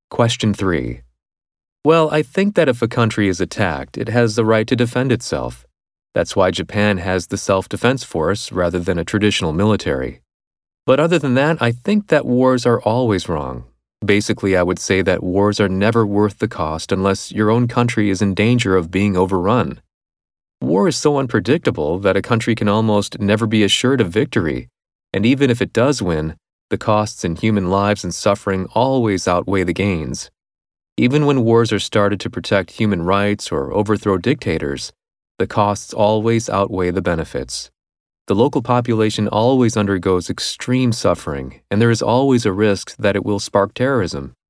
Question 3. Well, I think that if a country is attacked, it has the right to defend itself. That's why Japan has the self-defense force rather than a traditional military. But other than that, I think that wars are always wrong. Basically, I would say that wars are never worth the cost unless your own country is in danger of being overrun. War is so unpredictable that a country can almost never be assured of victory, and even if it does win, the costs in human lives and suffering always outweigh the gains. Even when wars are started to protect human rights or overthrow dictators, the costs always outweigh the benefits. The local population always undergoes extreme suffering, and there is always a risk that it will spark terrorism.